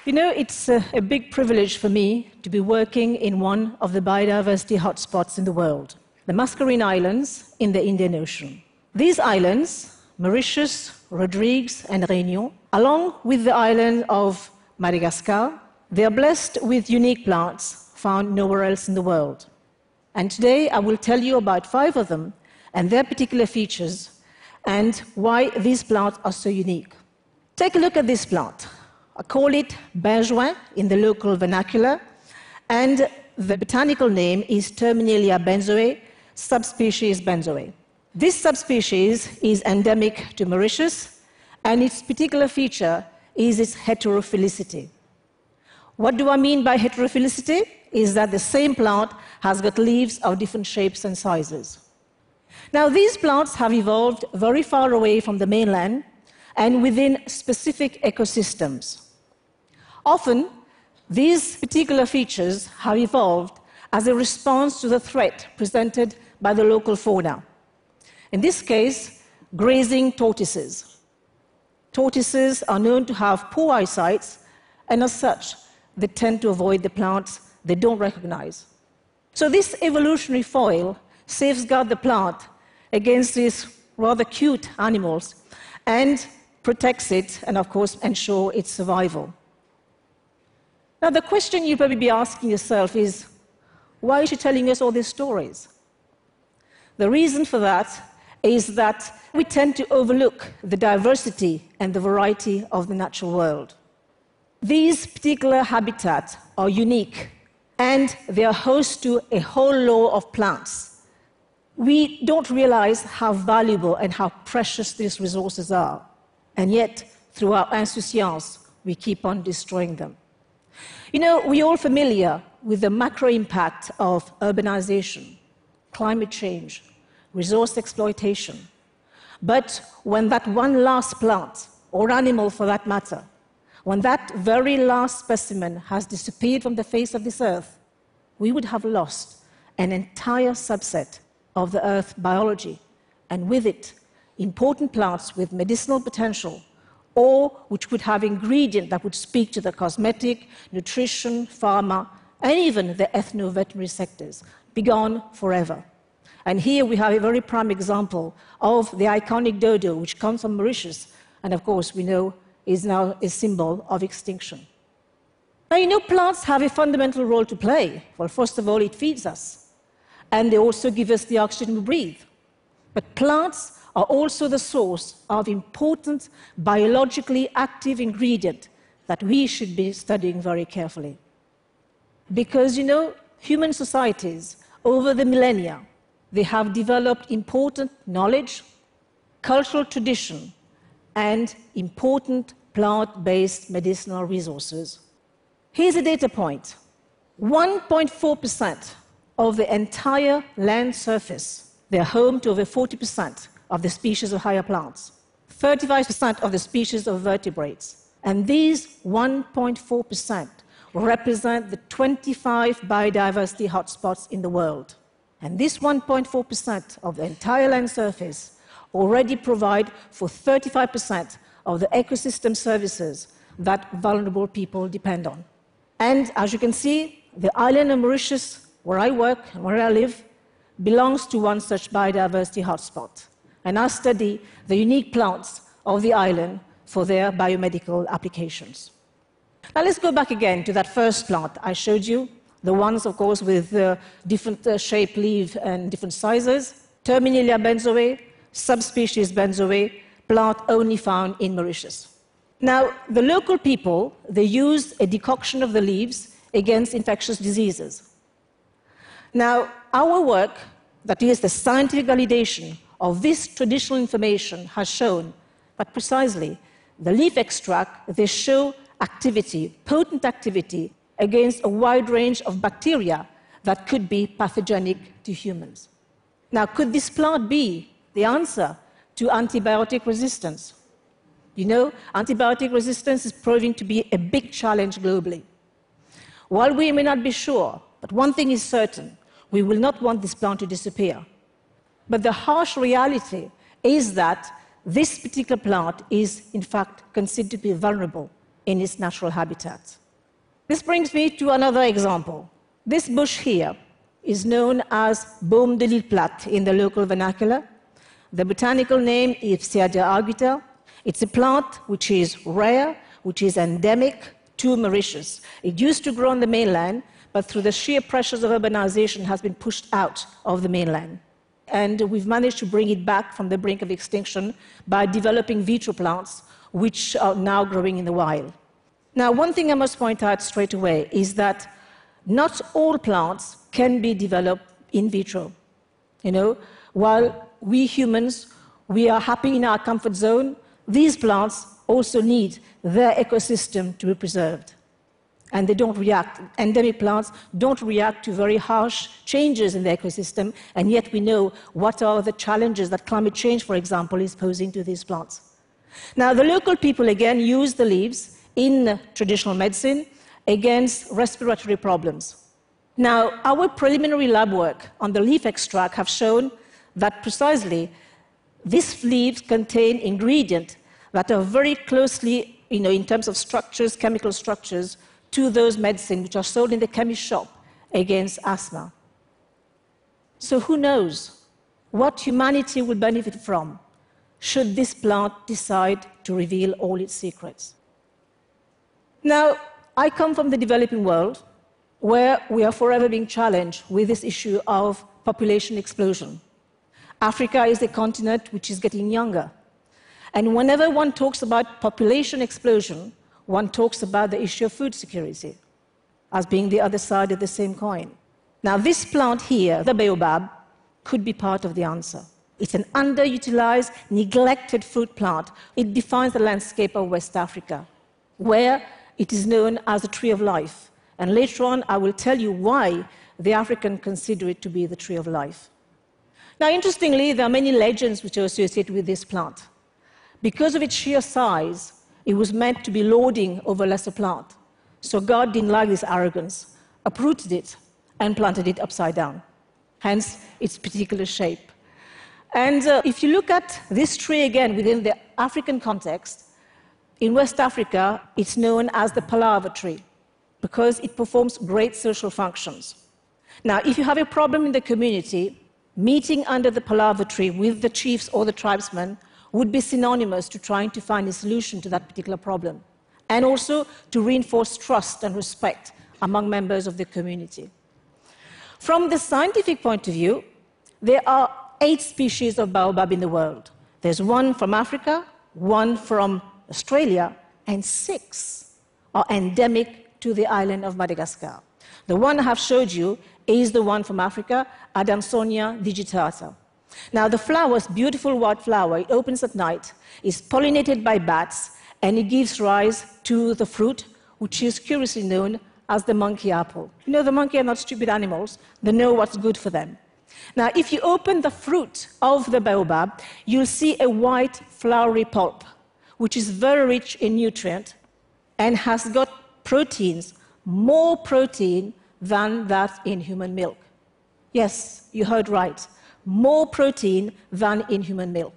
You know, it's a big privilege for me to be working in one of the biodiversity hotspots in the world, the Mascarene Islands in the Indian Ocean. These islands, Mauritius, Rodrigues, and Réunion, along with the island of Madagascar, they are blessed with unique plants found nowhere else in the world. And today I will tell you about 5 of them and their particular features and why these plants are so unique. Take a look at this plant. I call it benjoin in the local vernacular, and the botanical name is Terminalia benzoe, subspecies benzoe. This subspecies is endemic to Mauritius, and its particular feature is its heterophilicity. What do I mean by heterophilicity? Is that the same plant has got leaves of different shapes and sizes. Now, these plants have evolved very far away from the mainland and within specific ecosystems. Often, these particular features have evolved as a response to the threat presented by the local fauna. In this case, grazing tortoises. Tortoises are known to have poor eyesight, and as such, they tend to avoid the plants they don't recognize. So this evolutionary foil safeguards the plant against these rather cute animals and protects it and, of course, ensures its survival. Now, the question you'll probably be asking yourself is, why is she telling us all these stories? The reason for that is that we tend to overlook the diversity and the variety of the natural world. These particular habitats are unique, and they are host to a whole lot of plants. We don't realize how valuable and how precious these resources are, and yet, through our insouciance, we keep on destroying them. You know, we're all familiar with the macro impact of urbanization, climate change, resource exploitation. But when that one last plant, or animal for that matter, when that very last specimen has disappeared from the face of this earth, we would have lost an entire subset of the Earth's biology, and with it, important plants with medicinal potential, or which would have ingredients that would speak to the cosmetic, nutrition, pharma, and even the ethno-veterinary sectors, be gone forever. And here we have a very prime example of the iconic dodo, which comes from Mauritius, and of course we know is now a symbol of extinction. Now, you know, plants have a fundamental role to play. Well, first of all, it feeds us, and they also give us the oxygen we breathe. But plants are also the source of important biologically active ingredients that we should be studying very carefully. Because, you know, human societies, over the millennia, they have developed important knowledge, cultural tradition, and important plant-based medicinal resources. Here's a data point. 1.4% of the entire land surface, they're home to over 40% of the species of higher plants, 35% of the species of vertebrates. And these 1.4% represent the 25 biodiversity hotspots in the world. And this 1.4% of the entire land surface already provide for 35% of the ecosystem services that vulnerable people depend on. And as you can see, the island of Mauritius, where I work and where I live, belongs to one such biodiversity hotspot. And I study the unique plants of the island for their biomedical applications. Now let's go back again to that first plant I showed you, the ones, of course, with different shaped leaves and different sizes. Terminalia benzoe, subspecies benzoe, plant only found in Mauritius. Now, the local people, they used a decoction of the leaves against infectious diseases. Now, our work, that is the scientific validation of this traditional information, has shown that precisely the leaf extract, they show activity, potent activity, against a wide range of bacteria that could be pathogenic to humans. Now, could this plant be the answer to antibiotic resistance? You know, antibiotic resistance is proving to be a big challenge globally. While we may not be sure, but one thing is certain, we will not want this plant to disappear. But the harsh reality is that this particular plant is, in fact, considered to be vulnerable in its natural habitat. This brings me to another example. This bush here is known as Boom de l'Île Plate in the local vernacular. The botanical name is Ipsiadia arguta. It's a plant which is rare, which is endemic to Mauritius. It used to grow on the mainland, but through the sheer pressures of urbanization has been pushed out of the mainland. And we've managed to bring it back from the brink of extinction by developing vitro plants, which are now growing in the wild. Now, one thing I must point out straight away is that not all plants can be developed in vitro. While we humans, we are happy in our comfort zone, these plants also need their ecosystem to be preserved. And they don't react. Endemic plants don't react to very harsh changes in the ecosystem, and yet we know what are the challenges that climate change, for example, is posing to these plants. Now, the local people, again, use the leaves in traditional medicine against respiratory problems. Now, our preliminary lab work on the leaf extract have shown that precisely these leaves contain ingredients that are very closely, in terms of structures, chemical structures, to those medicines which are sold in the chemist shop against asthma. So who knows what humanity will benefit from should this plant decide to reveal all its secrets? Now, I come from the developing world, where we are forever being challenged with this issue of population explosion. Africa is a continent which is getting younger. And whenever one talks about population explosion, one talks about the issue of food security as being the other side of the same coin. Now, this plant here, the baobab, could be part of the answer. It's an underutilized, neglected fruit plant. It defines the landscape of West Africa, where it is known as the tree of life. And later on, I will tell you why the Africans consider it to be the tree of life. Now, interestingly, there are many legends which are associated with this plant. Because of its sheer size, it was meant to be lording over a lesser plant. So God didn't like this arrogance, uprooted it, and planted it upside down, hence its particular shape. And if you look at this tree again within the African context, in West Africa, it's known as the palaver tree because it performs great social functions. Now, if you have a problem in the community, meeting under the palaver tree with the chiefs or the tribesmen would be synonymous to trying to find a solution to that particular problem, and also to reinforce trust and respect among members of the community. From the scientific point of view, there are 8 species of baobab in the world. There's 1 from Africa, 1 from Australia, and 6 are endemic to the island of Madagascar. The one I have showed you is the one from Africa, Adamsonia digitata. Now, the flower is beautiful white flower. It opens at night, is pollinated by bats, and it gives rise to the fruit, which is curiously known as the monkey apple. The monkey are not stupid animals. They know what's good for them. Now, if you open the fruit of the baobab, you'll see a white floury pulp, which is very rich in nutrient and has got proteins, more protein than that in human milk. Yes, you heard right. More protein than in human milk.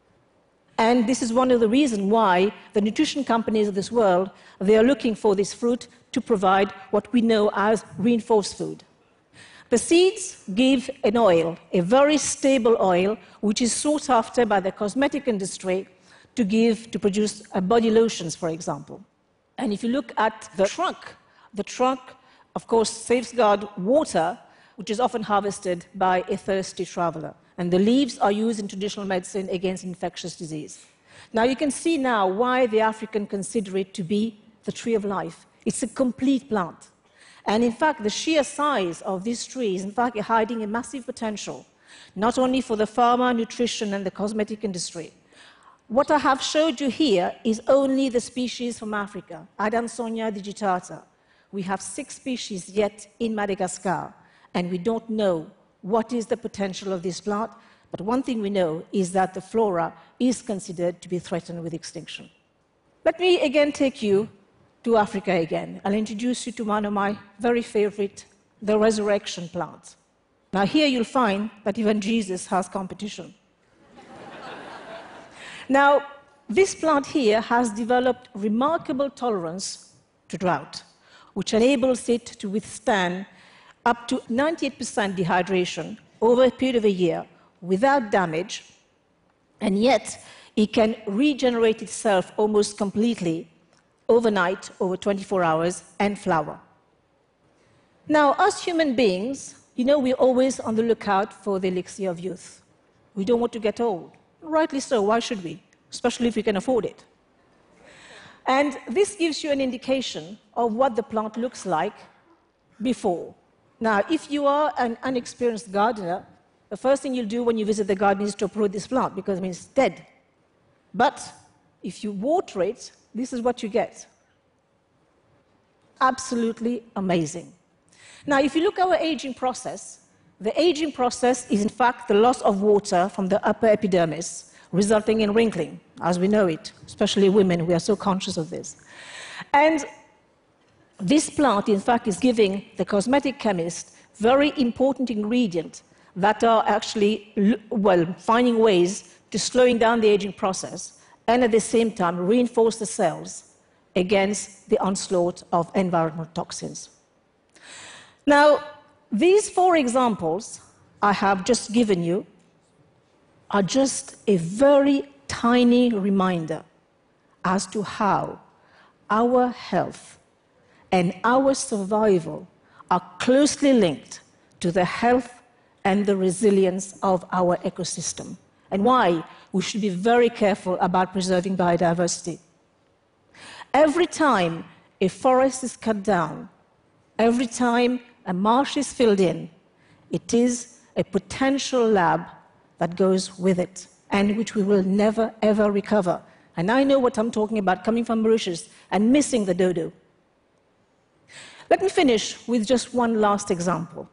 And this is one of the reasons why the nutrition companies of this world, they are looking for this fruit to provide what we know as reinforced food. The seeds give an oil, a very stable oil, which is sought after by the cosmetic industry to produce body lotions, for example. And if you look at the trunk, of course, safeguards water, which is often harvested by a thirsty traveler. And the leaves are used in traditional medicine against infectious disease. Now, you can see now why the Africans consider it to be the tree of life. It's a complete plant. And in fact, the sheer size of this tree is in fact hiding a massive potential, not only for the pharma, nutrition, and the cosmetic industry. What I have showed you here is only the species from Africa, Adamsonia digitata. We have 6 species yet in Madagascar, and we don't know what is the potential of this plant, but one thing we know is that the flora is considered to be threatened with extinction. Let me again take you to Africa again. I'll introduce you to one of my very favorite, the resurrection plant. Now here you'll find that even Jesus has competition. Now, This plant here has developed remarkable tolerance to drought, which enables it to withstand up to 98% dehydration over a period of a year without damage, and yet it can regenerate itself almost completely overnight, over 24 hours, and flower. Now, as human beings, we're always on the lookout for the elixir of youth. We don't want to get old. Rightly so, why should we? Especially if we can afford it. And this gives you an indication of what the plant looks like before. Now, if you are an unexperienced gardener, the first thing you'll do when you visit the garden is to uproot this plant, because it means it's dead. But if you water it, this is what you get. Absolutely amazing. Now, if you look at our aging process, the aging process is in fact the loss of water from the upper epidermis, resulting in wrinkling, as we know it, especially women. We are so conscious of this. And this plant, in fact, is giving the cosmetic chemist very important ingredients that are actually, finding ways to slowing down the aging process and at the same time reinforce the cells against the onslaught of environmental toxins. Now, these 4 examples I have just given you are just a very tiny reminder as to how our health and our survival are closely linked to the health and the resilience of our ecosystem, and why we should be very careful about preserving biodiversity. Every time a forest is cut down, every time a marsh is filled in, it is a potential lab that goes with it, and which we will never, ever recover. And I know what I'm talking about, coming from Mauritius and missing the dodo. Let me finish with just one last example.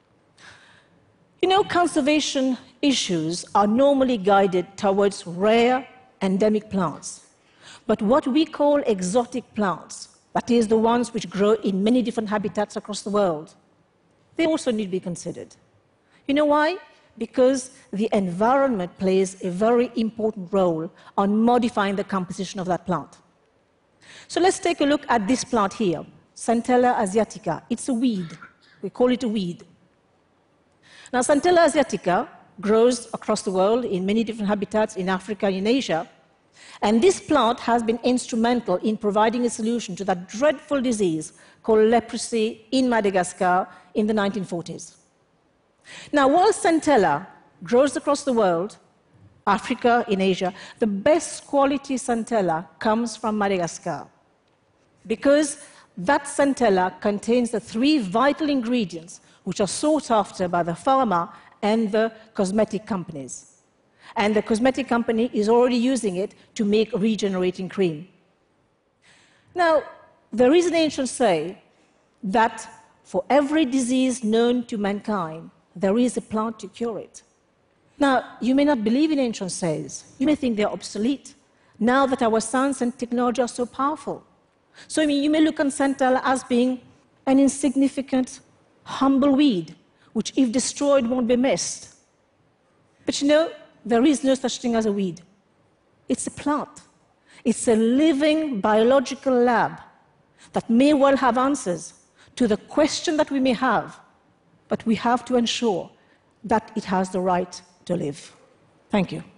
Conservation issues are normally guided towards rare, endemic plants. But what we call exotic plants, that is, the ones which grow in many different habitats across the world, they also need to be considered. You know why? Because the environment plays a very important role on modifying the composition of that plant. So let's take a look at this plant here, Centella asiatica. It's a weed. We call it a weed. Now, Centella asiatica grows across the world in many different habitats in Africa and in Asia. And this plant has been instrumental in providing a solution to that dreadful disease called leprosy in Madagascar in the 1940s. Now, while Centella grows across the world, Africa, in Asia, the best quality Centella comes from Madagascar, because that Centella contains the 3 vital ingredients which are sought after by the pharma and the cosmetic companies. And the cosmetic company is already using it to make regenerating cream. Now, there is an ancient saying that for every disease known to mankind, there is a plant to cure it. Now, you may not believe in ancient sayings. You may think they're obsolete, now that our science and technology are so powerful. So, you may look on Centella as being an insignificant, humble weed, which, if destroyed, won't be missed. But there is no such thing as a weed. It's a plant. It's a living biological lab that may well have answers to the question that we may have, but we have to ensure that it has the right to live. Thank you.